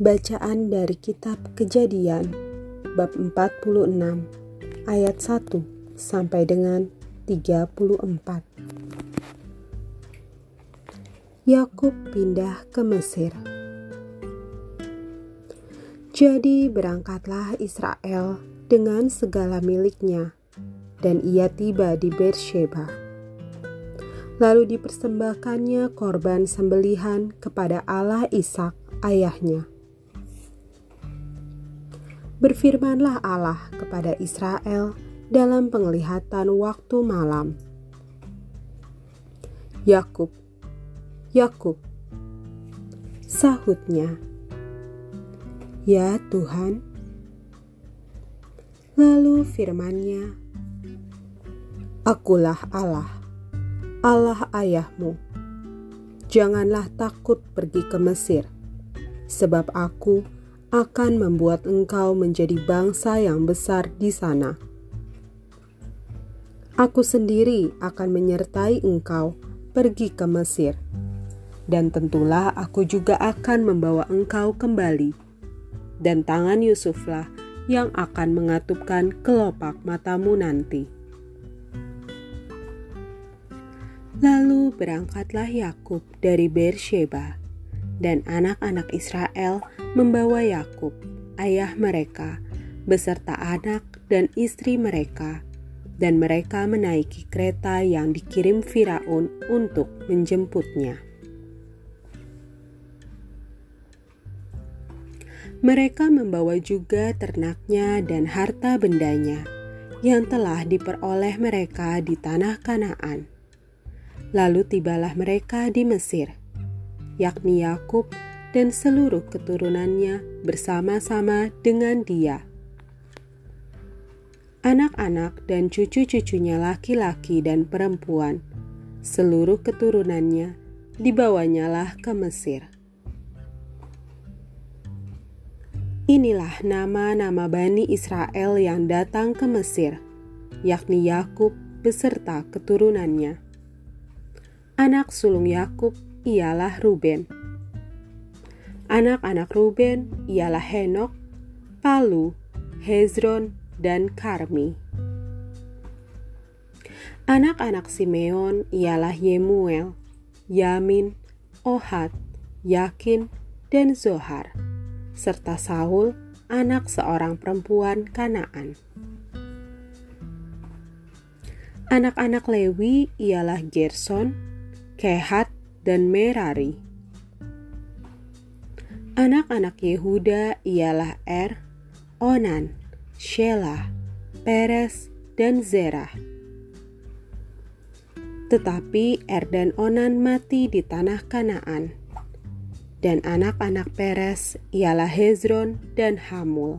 Bacaan dari kitab Kejadian bab 46 ayat 1 sampai dengan 34. Yakub pindah ke Mesir. Jadi berangkatlah Israel dengan segala miliknya, dan ia tiba di Beersheba. Lalu dipersembahkannya korban sembelihan kepada Allah Ishak ayahnya. Berfirmanlah Allah kepada Israel dalam penglihatan waktu malam. Yakub, Yakub, sahutnya. Ya Tuhan. Lalu firman-Nya, Akulah Allah, Allah ayahmu. Janganlah takut pergi ke Mesir, sebab Aku akan membuat engkau menjadi bangsa yang besar di sana. Aku sendiri akan menyertai engkau pergi ke Mesir, dan tentulah Aku juga akan membawa engkau kembali, dan tangan Yusuflah yang akan mengatupkan kelopak matamu nanti. Lalu berangkatlah Yakub dari Beersheba, dan anak-anak Israel membawa Yakub, ayah mereka, beserta anak dan istri mereka, dan mereka menaiki kereta yang dikirim Firaun untuk menjemputnya. Mereka membawa juga ternaknya dan harta bendanya yang telah diperoleh mereka di tanah Kanaan. Lalu tibalah mereka di Mesir, yakni Yakub dan seluruh keturunannya bersama-sama dengan dia. Anak-anak dan cucu-cucunya laki-laki dan perempuan, seluruh keturunannya dibawanyalah ke Mesir. Inilah nama-nama Bani Israel yang datang ke Mesir, yakni Yakub beserta keturunannya. Anak sulung Yakub ialah Ruben. Anak-anak Ruben ialah Henok, Palu, Hezron, dan Karmi. Anak-anak Simeon ialah Yemuel, Yamin, Ohad, Yakin, dan Zohar, serta Saul, anak seorang perempuan Kanaan. Anak-anak Lewi ialah Gerson, Kehat, dan Merari. Anak-anak Yehuda ialah Onan, Shelah, Peres, dan Zerah. Tetapi dan Onan mati di tanah Kanaan, dan anak-anak Peres ialah Hezron dan Hamul.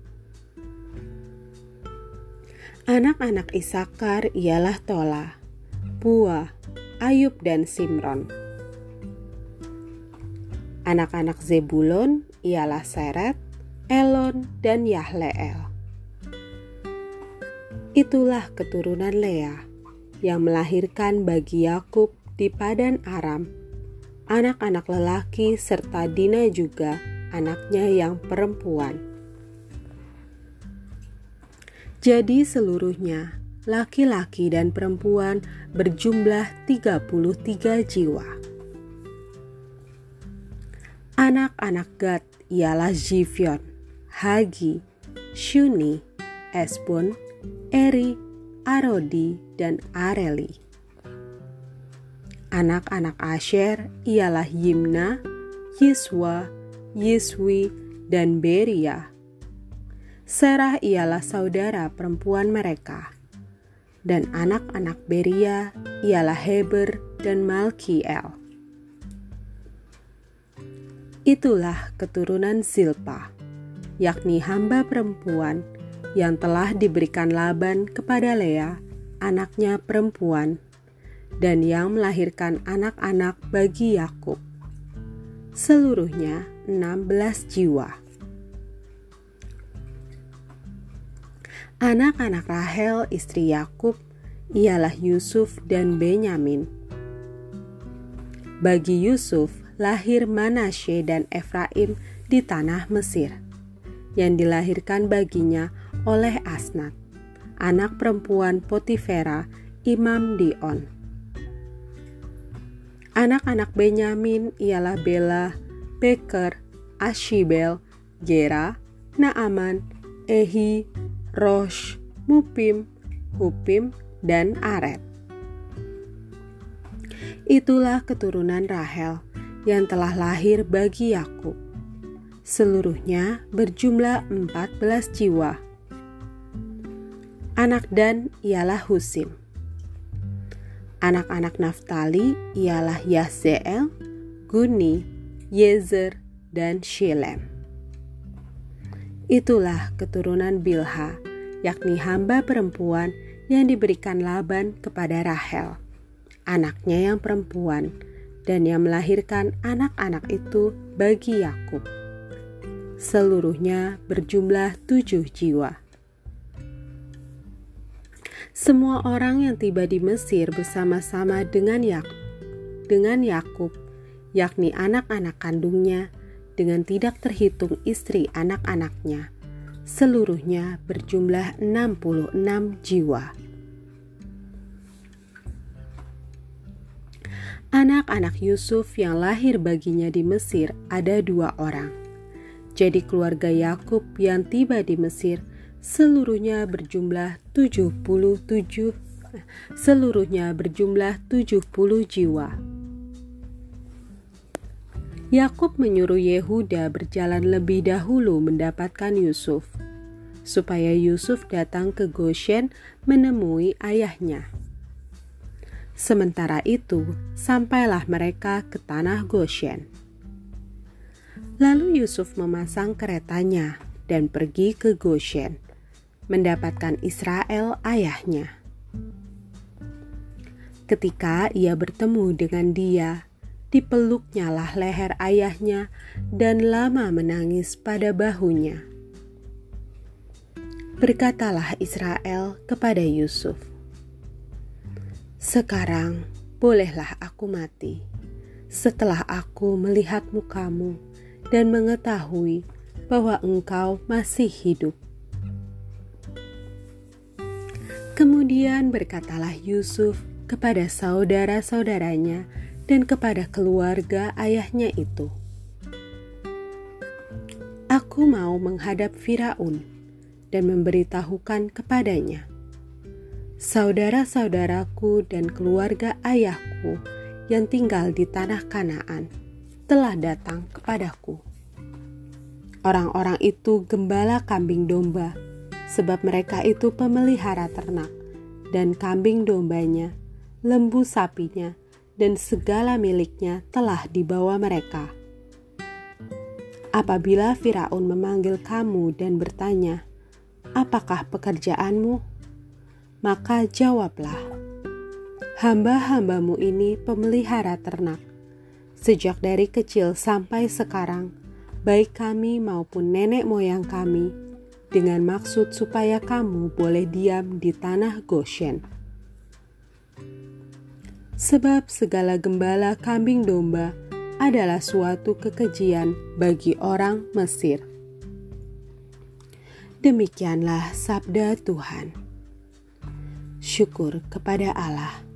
Anak-anak Isakar ialah Tola, Pua, Ayub, dan Simron. Anak-anak Zebulon ialah Seret, Elon, dan Yahleel. Itulah keturunan Lea yang melahirkan bagi Yakub di Padan Aram, anak-anak lelaki serta Dina juga anaknya yang perempuan. Jadi seluruhnya, laki-laki dan perempuan berjumlah 33 jiwa. Anak-anak Gad ialah Zifion, Hagi, Shuni, Esbon, Eri, Arodi, dan Areli. Anak-anak Asher ialah Yimna, Yiswa, Yiswi, dan Beria. Serah ialah saudara perempuan mereka. Dan anak-anak Beria ialah Heber dan Malkiel. Itulah keturunan Zilpa, yakni hamba perempuan yang telah diberikan Laban kepada Lea, anaknya perempuan, dan yang melahirkan anak-anak bagi Yakub. Seluruhnya 16 jiwa. Anak-anak Rahel istri Yakub ialah Yusuf dan Benyamin. Bagi Yusuf lahir Manasye dan Efraim di tanah Mesir, yang dilahirkan baginya oleh Asnat, anak perempuan Potifera, imam di On. Anak-anak Benyamin ialah Bela, Beker, Ashibel, Gera, Naaman, Ehi, Rosh, Mupim, Hupim, dan Aret. Itulah keturunan Rahel yang telah lahir bagi Yakub. Seluruhnya berjumlah 14 jiwa. Anak Dan ialah Husim. Anak-anak Naftali ialah Yahzeel, Guni, Yezer, dan Shilem. Itulah keturunan Bilha, yakni hamba perempuan yang diberikan Laban kepada Rahel, anaknya yang perempuan, dan yang melahirkan anak-anak itu bagi Yakub. Seluruhnya berjumlah 7 jiwa. Semua orang yang tiba di Mesir bersama-sama dengan Yakub, yakni anak-anak kandungnya, dengan tidak terhitung istri anak-anaknya, seluruhnya berjumlah 66 jiwa. Anak-anak Yusuf yang lahir baginya di Mesir ada 2 orang. Jadi keluarga Yakub yang tiba di Mesir seluruhnya berjumlah 70 jiwa. Yakub menyuruh Yehuda berjalan lebih dahulu mendapatkan Yusuf, supaya Yusuf datang ke Goshen menemui ayahnya. Sementara itu, sampailah mereka ke tanah Goshen. Lalu Yusuf memasang keretanya dan pergi ke Goshen, mendapatkan Israel ayahnya. Ketika ia bertemu dengan dia, dipeluknyalah leher ayahnya dan lama menangis pada bahunya. Berkatalah Israel kepada Yusuf, "Sekarang bolehlah aku mati, setelah aku melihat mukamu dan mengetahui bahwa engkau masih hidup." Kemudian berkatalah Yusuf kepada saudara-saudaranya dan kepada keluarga ayahnya itu, "Aku mau menghadap Firaun dan memberitahukan kepadanya, saudara-saudaraku dan keluarga ayahku yang tinggal di tanah Kanaan telah datang kepadaku. Orang-orang itu gembala kambing domba, sebab mereka itu pemelihara ternak, dan kambing dombanya, lembu sapinya, dan segala miliknya telah dibawa mereka. Apabila Firaun memanggil kamu dan bertanya, 'Apakah pekerjaanmu?' maka jawablah, 'Hamba-hambamu ini pemelihara ternak. Sejak dari kecil sampai sekarang, baik kami maupun nenek moyang kami, dengan maksud supaya kamu boleh diam di tanah Goshen. Sebab segala gembala kambing domba adalah suatu kekejian bagi orang Mesir.'" Demikianlah sabda Tuhan. Syukur kepada Allah.